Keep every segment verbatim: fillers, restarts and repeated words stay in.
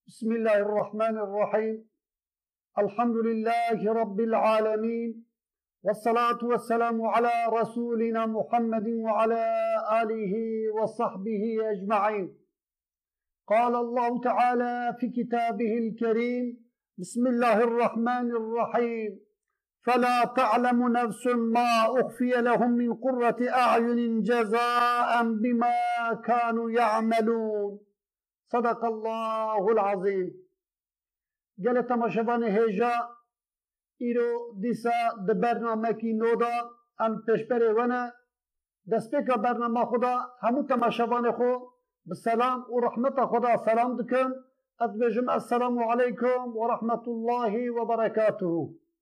بسم الله الرحمن الرحيم. الحمد لله رب العالمين، والصلاة والسلام على رسولنا محمد وعلى آله وصحبه أجمعين. قال الله تعالى في كتابه الكريم: بسم الله الرحمن الرحيم. فلا تعلم نفس ما أخفي لهم من قرة أعين جزاء بما كانوا يعملون. صدق الله العظيم. قال تماشبان هجا إيرو ديسا د برنامه کی نودا ام پشپره ونه دسپیکا برنامه خدا همو تماشبان خو بالسلام و رحمت خدا سلام دکن. اتبجم السلام عليكم ورحمة الله وبركاته.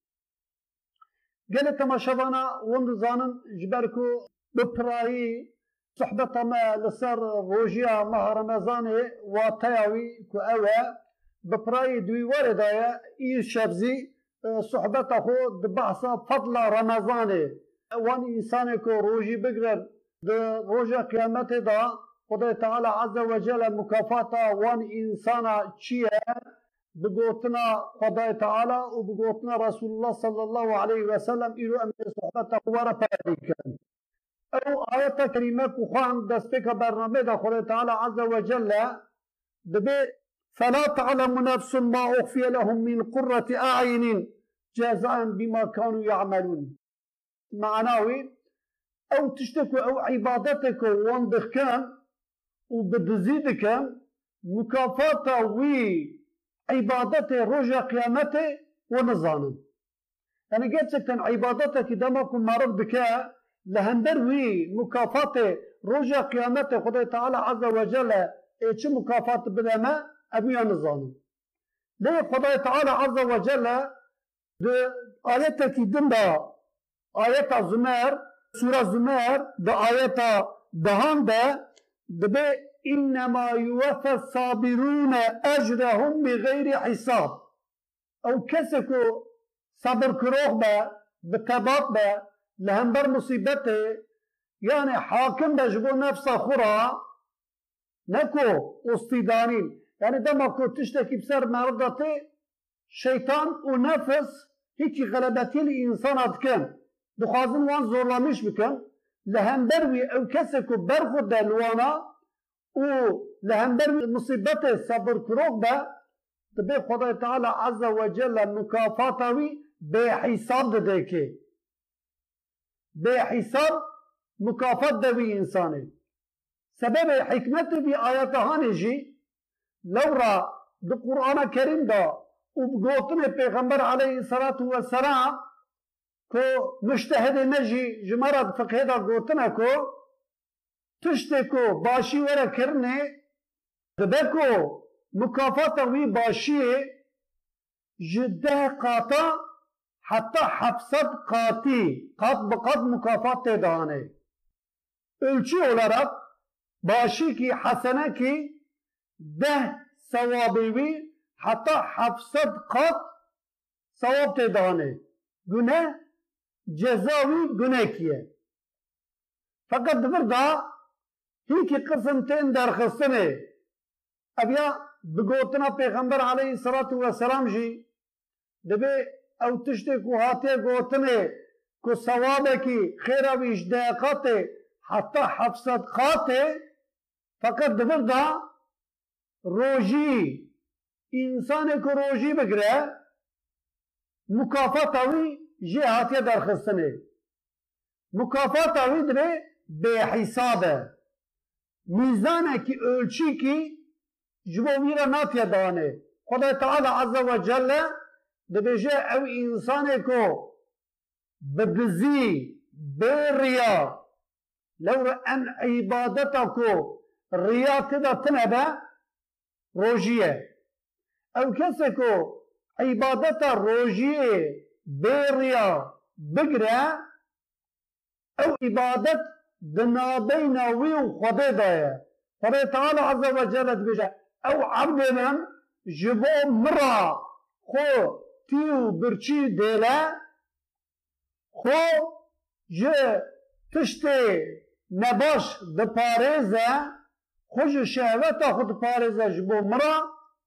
قال تماشبانا وندزانن جبركو بپرایی صحبت ما لسر روجيا ماه رمضان واتياوي كو اوه بپرایی دوی وردايا اي شبزي صحبت خو دبحثا فضل رمضان وان انسان كو روجي بقرر ده روجا قيامت دا خدا تعالى عز وجل مكافاتا وان انسانا چيه بقوتنا خدا تعالى وبقوتنا رسول الله صلى الله عليه وسلم إلو أمر صحبت قوارا پاریکن. او آية كريمة كخوان دستك برنامه دا خدا تعالى عز وجل دبي: فلا تعلم نفس ما أخفي لهم من قرة أعين جزاء بما كانوا يعملون. معناوي او تشتكوا او عبادتك واندخكان وبدزيدك مكافاتا وي عبادته رجع قيامته ونظانا. يعني قلت سكتن عبادتك دمكم معروف بك لهندر وي مكافاته رجع قيامته خدا تعالى عز وجل ايش مكافات بدما ابيا نظانا. ليه خدا تعالى عز وجل ده آياتك دنبا آيات زمر سورة زمر ده آيات دهان ده دبي: إنما يوفى الصابرون أجرهم بغير حساب. أو كسكو صبر كروخ با بتباط با لهنبر مصيبته، يعني حاكم بجبو نفس خورا نكو اصطدانين، يعني دمكو تشتكي بسر مردته شيطان ونفس هيك غلبتي الإنسان أتكن دخازن وان زورلامش بكن لهنبروي أو كسكو برخد دلوانا و لهنبر مصيبته صبر كروخ با تبي خدا تعالى عز وجل مكافاتوي بحساب دديكي بحساب مكافات دوي إنساني. سبب حكمته في آياتهان جي لورا دو قرآن كريم دا وبقوتنا پیغمبر عليه الصلاة والسلام كو مجتهد نجي جمرد فقه دا قوتنا كو تشتكو باشي ورا كرني دبكو مكافاتا وي باشي جده قاطا حتى حفصد قاطي قط بقط مكافات تداني ölçü olarak باشي كي حسنة كي ده ثوابي حتى حفصد قط ثواب تداني günah cezavi günahkiye. Fakat burada هيك قسمتين درخصني أبيا بقوتنا پیغمبر عليه الصلاة والسلام جي دبي او تشتكو هاتي قوتني كو ثوابكي خيرا ويش داقاتي حتى حفصد قاتي. فقط دبردا روجي انسان كو روجي بقرأ مكافاتاوي جي هاتي درخصني مكافاتاوي دبي بحسابه ميزانه كي ölçü ki جبويرا ناتيا دانه. خدا تعالى عز وجل دبجه او انسانه كو بدزي بريا لو ان عبادتكو ريا كده تنبه روجيه او كسكو عبادت روجيه بريا بقرا او عبادت دنابينا ويو خدا دايا. خدا تعالى عز وجل بجا او عبد من جبو مرا خو تيو برچي ديلا خو جه تشتي نباش دپاريزه خوش شهوتا خود پاريزه جبو مرا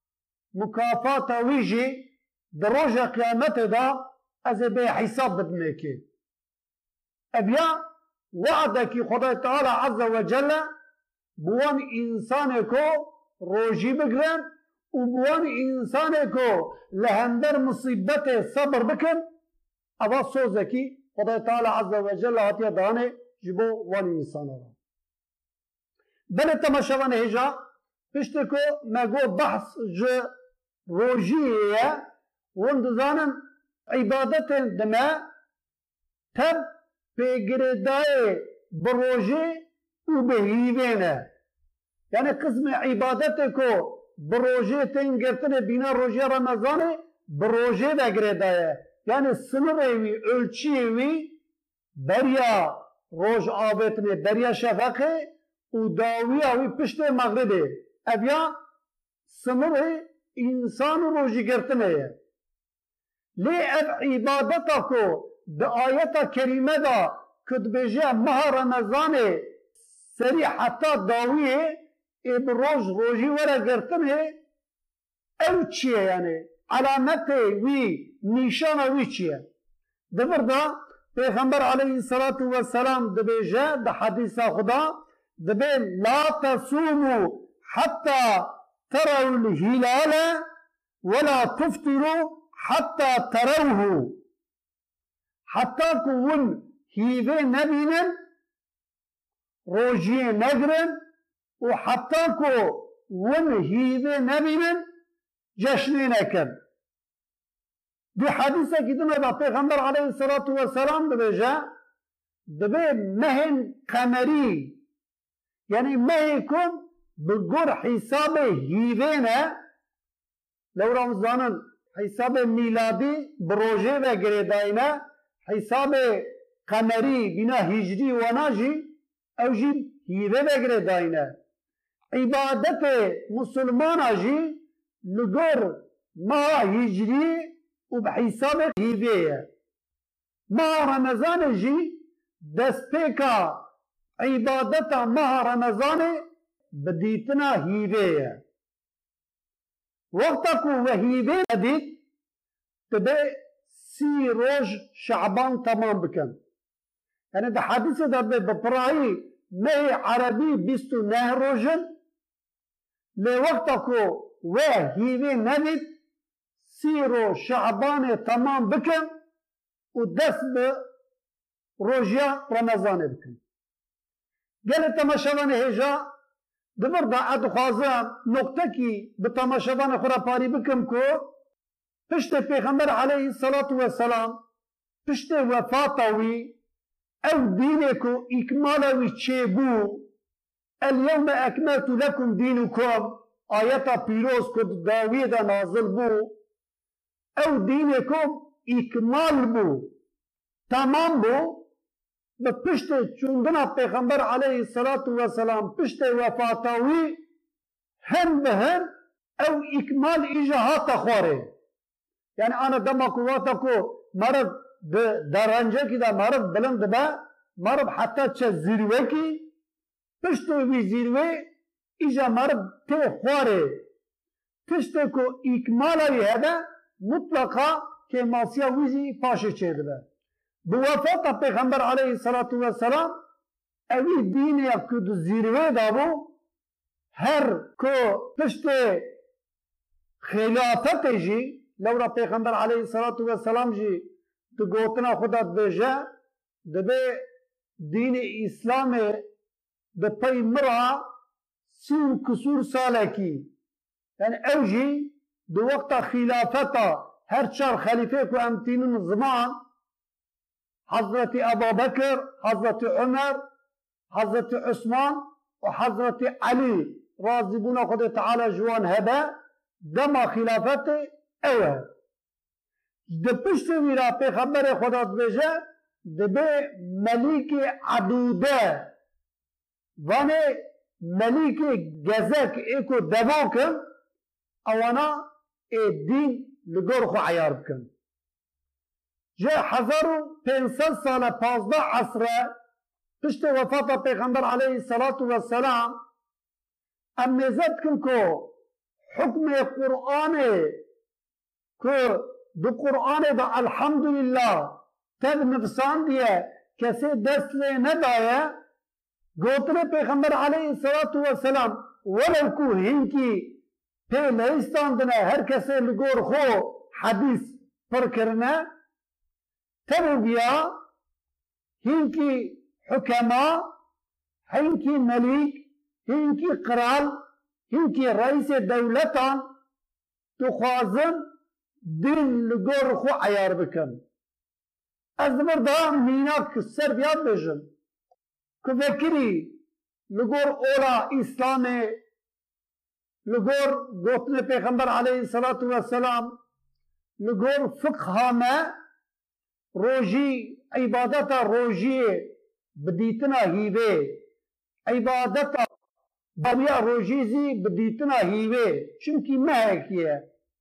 مكافات ويجي دروجة قيامت دا از بي حساب بدنكي ابيا وعدك خدا تعالى عز وجل بوان انسانكو روجي بگرن وبوان انسانكو لهندر مصيبت صبر بكن ابا سوزكي خدا تعالى عز وجل هاتيا دانه جبو وان انسانه بل تماشوان هجا پشتكو مگو بحث جو روجيه وندزانن عبادت دما تب پیگردای بروجه و بهیوینه یعنی قسم عبادت کو بروجه تنگرتن بینا روجه رمضانه بروجه بگردایه یعنی سنروی ölçüyevi بریا روج آبتنه بریا شفقه و داویاوی پشت مغربه ابیا سنره انسان روجی گرتنه لی اب عبادتا کو ده آیتا کریمه دا کد بجه ماه رمضان سری حتی داویه ای بروج روجی ورا گرتنه او چیه یعنی علامت وی نیشان وی چیه ده برده پیغمبر علیه الصلاة والسلام ده بجه ده حدیث خدا ده بی لا تصوموا حتى تروا الهلال ولا تفطروا حتى تروه حتى كون هيفي نبينا روجي نجرن وحتى كون هيفي نبينا جشن نكر دي حديثة كدنا دا پیغمبر عليه الصلاة والسلام دبجا دبي مهن قمري يعني مهكم بقر حساب هيفينا لو رمضانا حساب ميلادي بروجه و گردائنا حساب قمري بنا هجري وناجي او جي هيوه و گردائنا عبادت مسلمان جي لغر ما هجري و بحساب هيوه ما رمضان جي دستيكا عبادت ما رمضان بديتنا هيوه وقتا کو وهیبه ندید تبه سی روز شعبان تمام بکن یعنی ده حدیث ده بپرایی مه عربی بیستو نه روزن لی وقتا کو وهیبه ندید سی روز شعبان تمام بکن و دست به روزیا رمضان بکن گل تماشوان هجا دمر دا ادخوازم نقطه کی به تماشاوان خورا پاری بکم کو پشت پیغمبر علیه الصلاة والسلام پشت وفاتوی او دینه کو اکمالوی چه بو اليوم اکملت لکم دینکم آیتا پیروز کد داوی دا نازل بو او دینه کم اکمال بو تمام بو به پشت چوندنا پیغمبر علیه الصلاة والسلام پشت وفاتاوی هم به هم او اکمال ایجاهات خواره یعنی آنا دما قواتا کو مرد درنجه کی دا مرد بلند با مرد حتی چه زیروه کی پشت وی زیروه ایجا مرد تی خواره پشت کو اکمالی هده مطلقا که ماسیا ویزی پاشه چیده با بوفات پیغمبر علیه الصلاة والسلام اوی دین یا کد زیروه دابو هر کو پشت خلافت جی لورا پیغمبر علیه الصلاة والسلام جی تو گوتنا خدا بجه دبه دین اسلام ده پی مرا سین کسور ساله کی یعنی او جی دو وقت خلافتا هر چار خلیفه کو امتینون زمان حضرت ابو بکر حضرت عمر حضرت عثمان و حضرت علی راضی بونا خود تعالی جوان هبه دما خلافت اوه ده پشت ویرا پیغمبر خدا بجه ده به ملیک عدوده وانه ملیک گزک ایکو دوا کن اوانا ای دین لگور خو عیار بکن جه هزار و پانصد سال پازده عصره پشت وفات پیغمبر علیه الصلاة والسلام امیزت کن که حكم قرآن که دو قرآن دا الحمدلله تب نفسان دیه کسی دست لی ندایه گوتر پیغمبر علیه الصلاة والسلام ولو کو هنکی پی لیستان دنه هر کسی لگور خو حدیث پر کرنه تب بیا هنکی حکما هنکی ملیک هنکی قرال هنکی رئیس دولتان تخوازن دین لگور خو عیار بکن از مردا میناک سر بیاد بجن که وکری لگور اولا اسلام لگور گوتن پیغمبر علیه الصلاة والسلام لگور فقه ما روجی عبادت روجی بدیتنا هیوه عبادت دنیا روجیزی بدیتنا هیوه چونکی مهکیه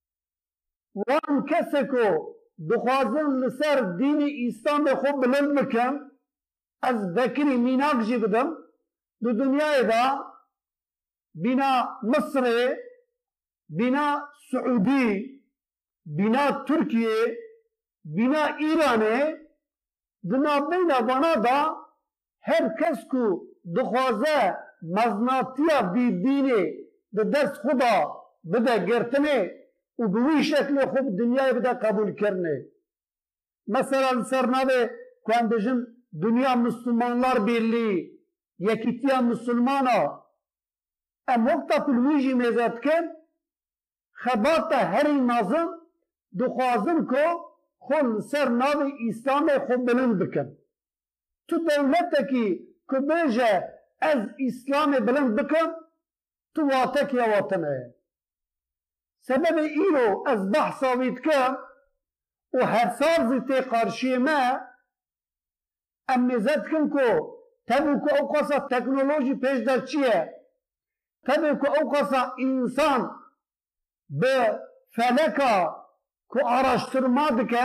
وان کسی کو دخوازن لسر دین اسلام خوب بلند بکن از بکری میناک جی بدم دو دنیای دا بنا مصر بنا سعودی بنا ترکیه بنا ایران بنا بین وانا دا هر کس کو دخوازه مزناتیا بی دینه ده دست خدا بده گرتنه و بوی شکل خوب دنیای بده قبول کرنه مثلا سرناوه کن بجن دنیا مسلمانlar birliği yekitiya Müslümana em vokta kulviji mezatken xebata heri nazım duxwazin ko xol ser navê İslamê xwe bilind bikin tu dewletekî ku bêje ez İslamê bilind bikim tu watekiya watan heye sebebê îro ez behsa wî dikim û her sal zî tê qarşiyê me em mêze dikin ku tevî ku ew qasa teknolojî pêş derçiye tevî ku ew qasa însan bi feleka ku araştırma dike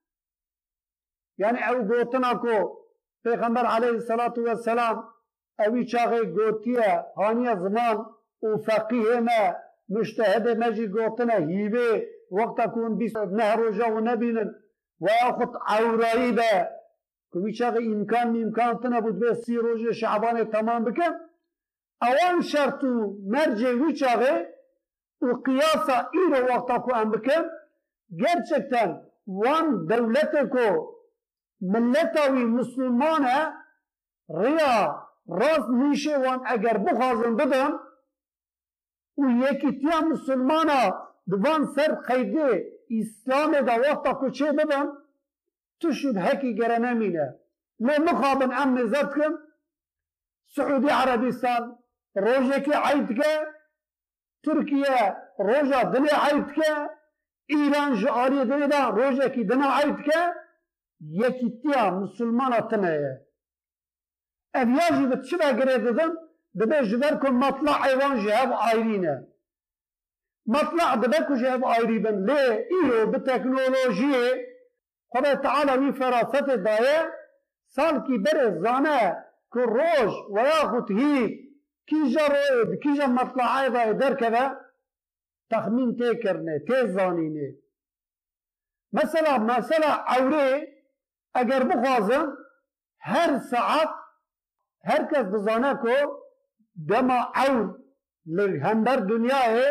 yani ew gotina ku Peygamber aleyhissalatu vesselam evî çaxê gotiye haniye ziman û feqîhê me müştehedê me jî gotine hîvê wekta ku hûn bîst neh roja û nebînin weya xut ewrayî be ku vî çaxê îmkan mîmkan tune bû dibê sî rojê şeعبانê temam bikin ewan şert û mercê wî çaxê û qiyasa îro wekta ku em bikin gerçekten wan devletê ku milleta wî Müslüman e rêya rast nîşê wan eger bixwazin bidin û yekîtiya Müslümana di van ser qeydê İslamê de wexta ku çê bibin tu şubhekî gere nemîne lê mixabin em mêze dikin Suûdî Erebîstan rojekê eyd dike Tirkiye roja dilê eyd dike İran ji aliyê dilê de rojekî dina eyd dike yekîtiya Müslümana tune ye ev ya jî bi çi vegirê didin dibe ji ber ku matlaê wan ji hev ayrî ne matla dibe ku ji hev ayrî bin lê îro bi teknolojiyê Xwedê Teala wî ferasetê daye salkî berê zane ku roj weya xut hîv kîja royê di kîja matlaê de derkeve texmîn tê kirine tê zanîne mesela mesela ewrê eger bixwazin her saet herkes dizane ku dema ewr li hember dunyayê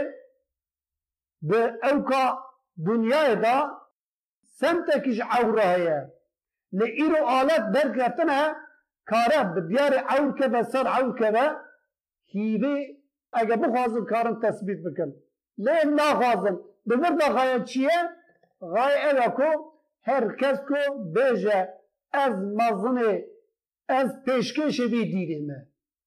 bi ewka dunyayê da semtekî ji ewre heye li îro alet derketine kare bi diyarê ewr keve ser ewr keve hîvê eger bixwazin karin tespît bikin lê naxwazin bi vir de gaye çi ye gaye ev e ku her kes ku bêje ez mezinê ez pêşkêşê vî dînê me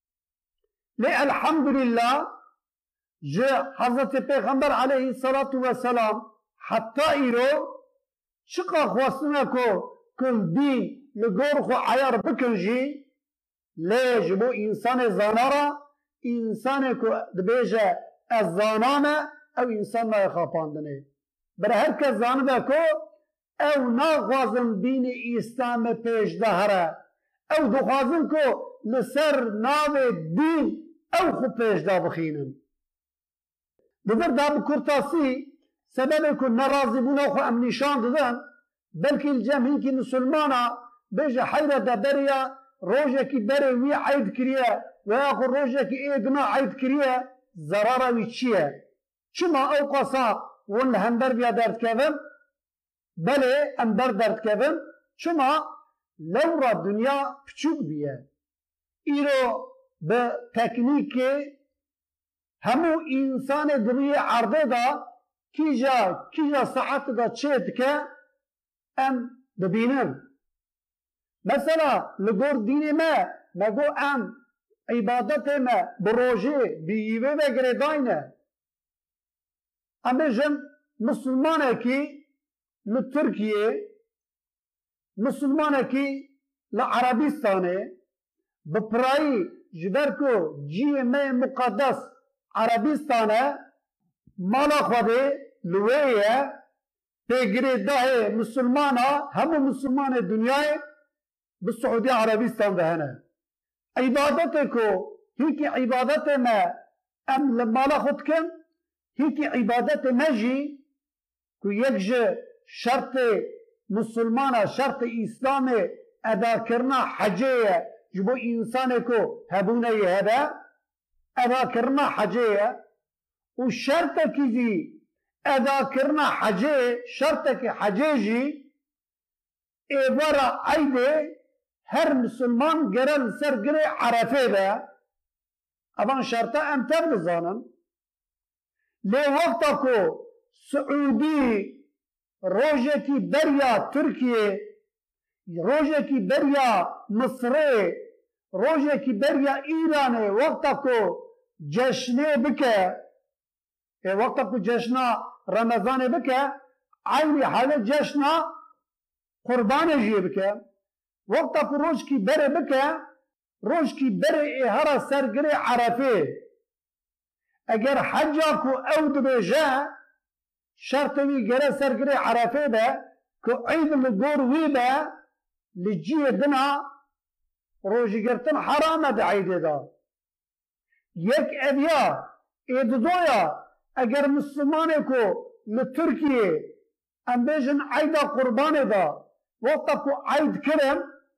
lê elhamdülillah ji Hazretê Peygamber aleyhissalatu vesselam heta îro çiqa xwestine ku kum dîn li gor xwe eyar bikin jî lê ji bo însanê zanara însanê ku dibêje ez zaname ew însan naye xapandinê bere her kes zanibe ku ew naxwazin dînê îslamê pêş de here ew dixwazin ku li ser navê dîn ew xwe pêş de bixînin دبر دا بکرتاسی سبب کو نرازی بونا خو ام نشان دادن بلکه الجمعی که مسلمانا بيجا حيرة دبريا روجا كي بري وي عيد كريا وياخو روجا كي ايدنا عيد كريا زرارة ويتشيا شما اوقاسا ون هندر بيا درد كذن بلي اندر درد كذن شما لورا دنيا بچوك بيا ايرو بتكنيك همو انسان دنيا عرضه دا كيجا كيجا ساعت دا تشيت كا ام ببينن مثلا لگور دین ما مگو ام عبادت ما بروجه بیوه و گرداینه اما جن مسلمانه کی لترکیه مسلمانه کی لعربستانه بپرایی جبرکو جیه ما مقدس عربستانه مالا خوده لویه پیگره ده مسلمانه همو مسلمان دنیای بالسعودية عربستان دهنا عبادتكو هيك عبادت ما ام لما لا خدكن هيك عبادت مجي كو يكجي شرط مسلمانة شرط اسلامي ادا كرنا حجية جبو انسانكو هبوني هذا ادا كرنا حجية والشرط كذي ادا كرنا حجية شرطك حجيجي ايبارا عيدي هر مسلمان گرل سر گره عرفه ده اوان شرطه امتر بزانن لی وقتا کو سعودی روژه کی بریا ترکیه روژه کی بریا مصره روژه کی بریا ایرانه وقتا کو جشنه بکه وقتا کو جشنه رمضانه بکه عینی حاله جشنه قربانه جیه بکه وقتا کو روز کی بره بکه روز کی بره هر سرگره عرفه اگر حجا کو او دبیجه شرطوی گره سرگره عرفه ده که عید لگور وی ده لجیه دنا روزی گرتن حرامه ده عیده ده یک اویا اید دویا اگر مسلمانه کو لترکیه ام بیجن عیده قربانه ده وقتا کو عید کرم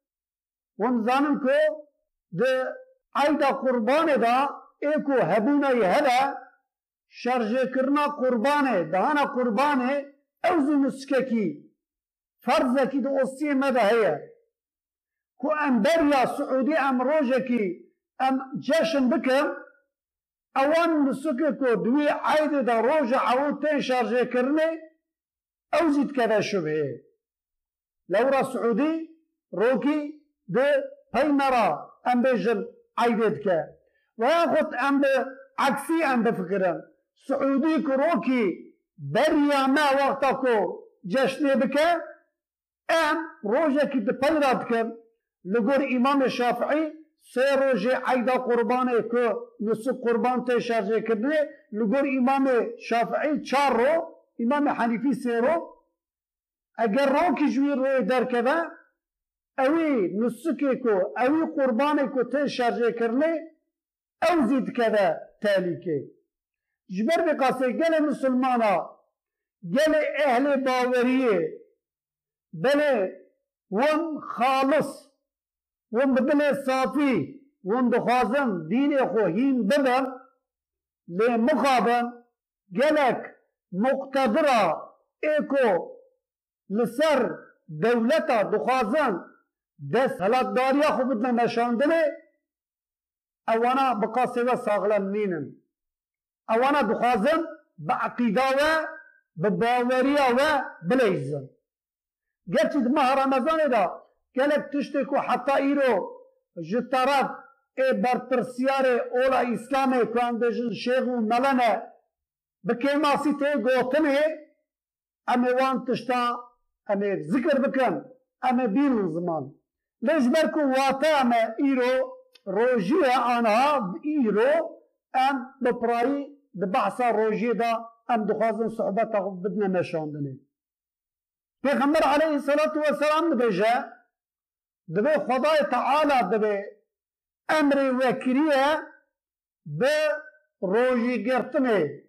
ونزانم کو ده عیده قربانه ده ایکو هبونه هده شرجه کرنا قربانه دهانا قربانه اوزو نسککی فرضه کی ده اصیه مده هیه کو ام بریا سعودی ام روژه کی ام جشن بکم اوان نسکه کو دوی عیده ده روژه عود تین شرجه کرنه اوزید کده شبهه لورا سعودي روكي ده بيمرا ام بيجن عيدت كا وياخد ام عكسي ام بفكرن سعودي كروكي بريا ما وقتكو جشني بكا ام روجه كي بيرات كم لغور امام الشافعي سي روجه عيدا قربانه كو نسك قربان تشارجه كدني لغور امام الشافعي چارو امام حنيفي سيرو اگر روکی جوی روی در کده اوی نسکی کو اوی قربانی کو تی شرجه کرنه او زید کده تالی که جبر بقاسه گل مسلمانا گل اهل باوریه بله ون خالص ون بدل صافی ون دخوازن دین خو هین بدن لی مخابن گلک مقتدره ایکو لسر دولتا دخوازن دست هلاک داریا خو بدنا نشاندنه اوانا بقاسه و ساغلن نینن اوانا دخوازن بعقیده و بباوریا و بلیزن گرچه ماه رمضان دا گلک تشتی کو حتی ایرو جترات ای برپرسیار اولا اسلامه که اندجن شیخ و ملنه بکی ماسی تی گوتنه امی وان تشتا امی ذکر بکن امی بین زمان لیش برکو واتا امی ایرو روژی آنها ایرو ام بپرایی دبحثا روژی دا ام دخوازن صحبتا بدنا نشاندنه پیغمبر علیه الصلاة والسلام دبیجه دبی خدای تعالی دبی امر وکریه به روژی گرتنه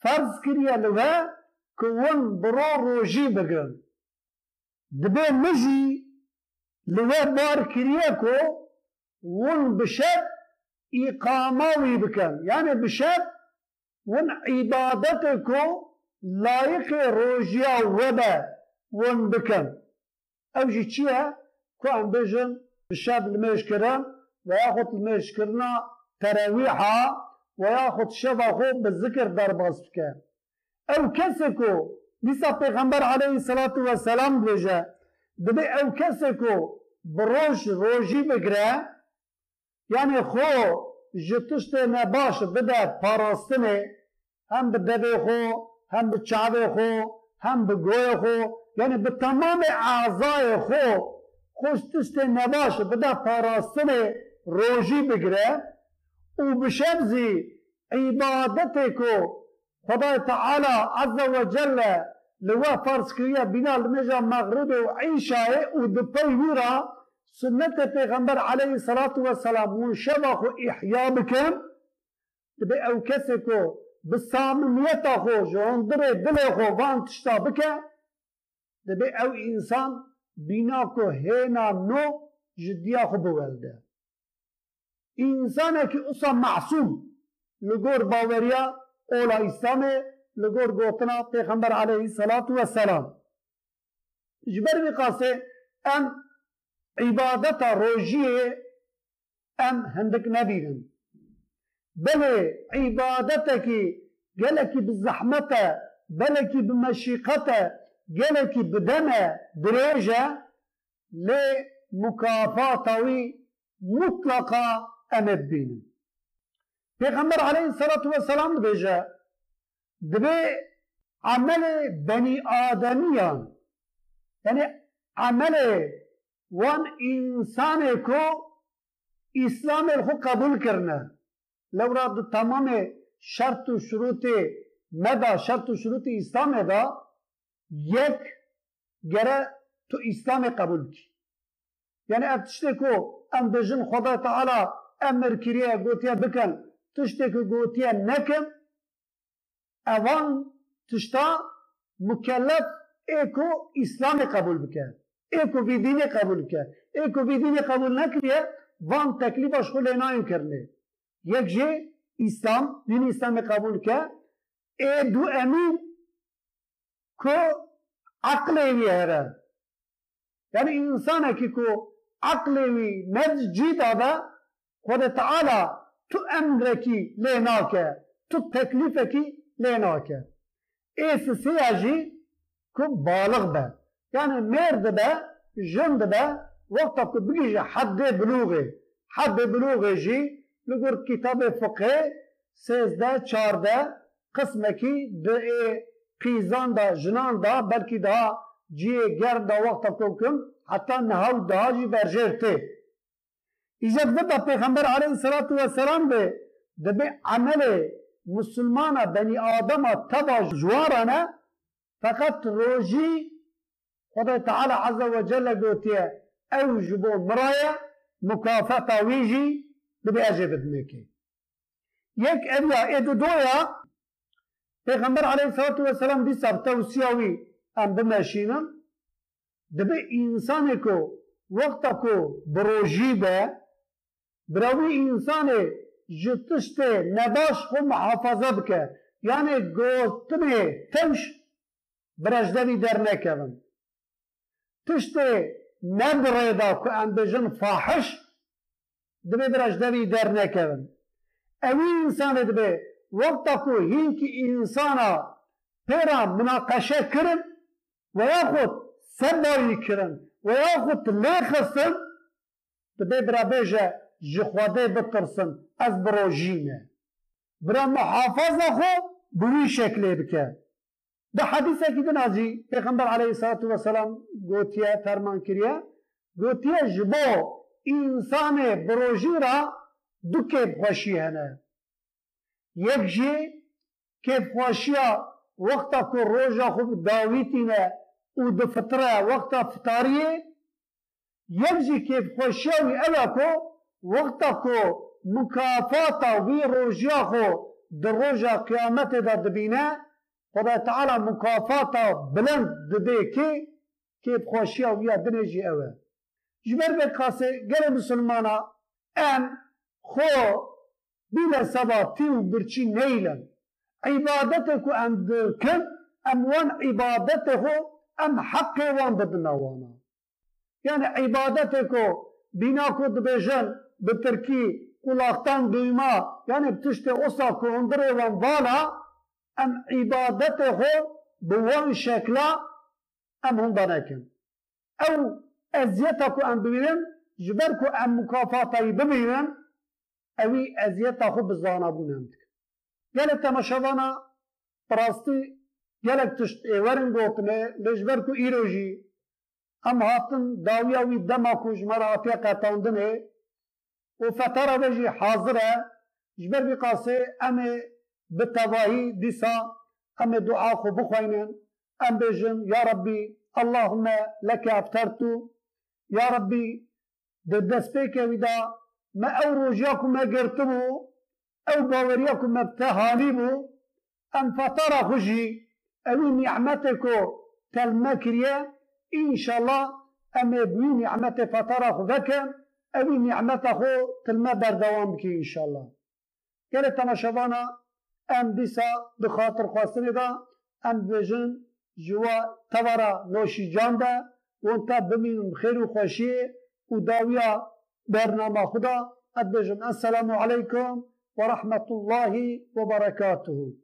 فرض كريا لغا كون برو روجي بگرن دبي مجي لغا بار كريا كو ون بشب إقاموي بكن يعني بشب ون عبادتكو لايق روجيا وبا ون بكن اوجي چيها كو عم بجن بشاب المشكران وياخد المشكرنا تراويحا وياخد شفاخو بالذكر درباس بكن او كسكو نسا پیغمبر عليه الصلاة والسلام بجا دبي او كسكو بروج روجي بگره يعني خو جتشت نباش بدا پاراستنه هم بدبه خو هم بچاوه خو هم بگوه خو يعني بتمام اعضاء خو خوش تشت نباش بدا پاراستنه روجي بگره و بشبزي عبادتكو خدا تعالى عز وجل لوا فرض كريا بنا المجا مغرب وعيشة ودبي ويرا سنة پیغمبر عليه الصلاة والسلام وشبخ إحياء بكم تبي أو كسكو بالصامنية خو جوندري دلي خو وان تشتا بكا تبي أو إنسان بناكو هنا نو جديا خو بولده إنسانك أصلا معصوم لقور باوريا أولا إسلامي لقور قوتنا پیغمبر عليه الصلاة والسلام جبر بقاسي أم عبادة روجية أم هندك نبيهم بل عبادتك قالك بالزحمة بلك بمشيقة قالك بدمة درجة لمكافاة مطلقة أم الدين پیغمبر عليه الصلاة والسلام بيجا دبي عمل بني آدميان يعني عمل وان انسان کو اسلام خو قبول کرنا لو راد تمام شرط و شروط مدا شرط و شروط اسلام دا یک گره تو اسلام قبول کی يعني اتشته کو ام بجن خدا تعالى امر كريا قوتيا بكن تشتك قوتيا نكم اوان تشتا مكلف ايكو اسلام قبول بكن ایکو بی دینی قبول کرد ایکو بی دینی قبول نکریه وان تکلیفش خود نایم کرده یک جه اسلام دین اسلام قبول کرد ای دو امین کو عقل وی هره یعنی انسان کی کو عقل وی مجی داده خود تعالی تو امر کی لینا که تو تکلیف کی لینا که ایس سیاجی کو بالغ به يعني مرد به جند به وقت بيجي حد بلوغه حد بلوغه جي لقر كتاب فقه سيزده چارده قسمكي ده قيزان ده جنان ده بلكي ده جي گرد ده وقت كوكم حتى نهاو ده جي برجرته إذا بدأ پیغمبر عليه الصلاة والسلام به ده بي عمل مسلمان بني آدم تبا جوارنا فقط روجي خدا تعالى عز وجل قوتيه اوجبو مرايا مكافأة ويجي دبي اجي بدمكي يك ابيا ادو دويا پیغمبر عليه الصلاة والسلام دي سب توسياوي ام بماشينا دبي انسانكو وقتكو بروجي به براوي انساني جتشته نباش خو محافظة بك يعني قوتني تمش برجدوي در نكبن تشتي نبريدا كو ام بجن فاحش دبي برج دبي در نكبن اوي انسان دبي وقتكو هينكي انسانا پيرا مناقشه كرن وياخد سباري كرن وياخد ليخصن دبي برا بيجا جخواده بترسن از بروجينه برا محافظه خو بوي شكله بكه ده حدیثه که دنازی پیغمبر علیه الصلاة والسلام گوتیه فرمان کریه گوتیه جبو انسان بروجی را دو کیف خوشی هنه یک جی کیف خوشی وقتا کو روژا خوب داویتینه او دو فطره وقتا فتاریه یک جی کیف خوشی وی اوه کو وقتا کو مکافاتا وی روژیا خو دروجة قيامته دا دبينه خدا تعالى مكافاته بلند دبي كي كي بخوشيه ويا دنيجي اوه جبر بكاسي قال مسلمانا ام خو بلا سباتي وبرشي نيلا عبادتك ام كم ام وان عبادته ام حقي وان بدنا وانا يعني عبادتك بناكو دبيجن بالتركي قلاقتان دوما يعني بتشتي أصاكو اندري وان بالا ام عبادته بوان شكلا ام هنداناكن او ازيتكو ام ببینن جبركو ام مكافاتي ببینن اوی ازیتاخو بزانا بونند گلک تماشاوانا براستی گلک تشت ایورن گوتنه لجبركو ایروجی ام هاتن داویاوی دماکو جمرا افیقا تاندنه و فتره بجی حاضره جبر بقاسه ام بالتواهي ديسا ام دعاء خو بخوينن ام بجن يا ربي اللهم لك افطرت يا ربي ددسبيك ودا ما اوروجاكم ما قرتمو او باورياكم ما بتهانيبو ام فطر خجي او نعمتكو تلمكريا ان شاء الله ام بوي نعمت فطر خذك او نعمته تلما بردوام بكي ان شاء الله قالت تماشاوانا ام دیسا بخاطر خواستنی دا ام بجن جوا تورا نوشی جان دا و انتا بمینم خیر و خوشی و داویا برنامه خدا اد بجن السلام علیکم و رحمت الله و برکاته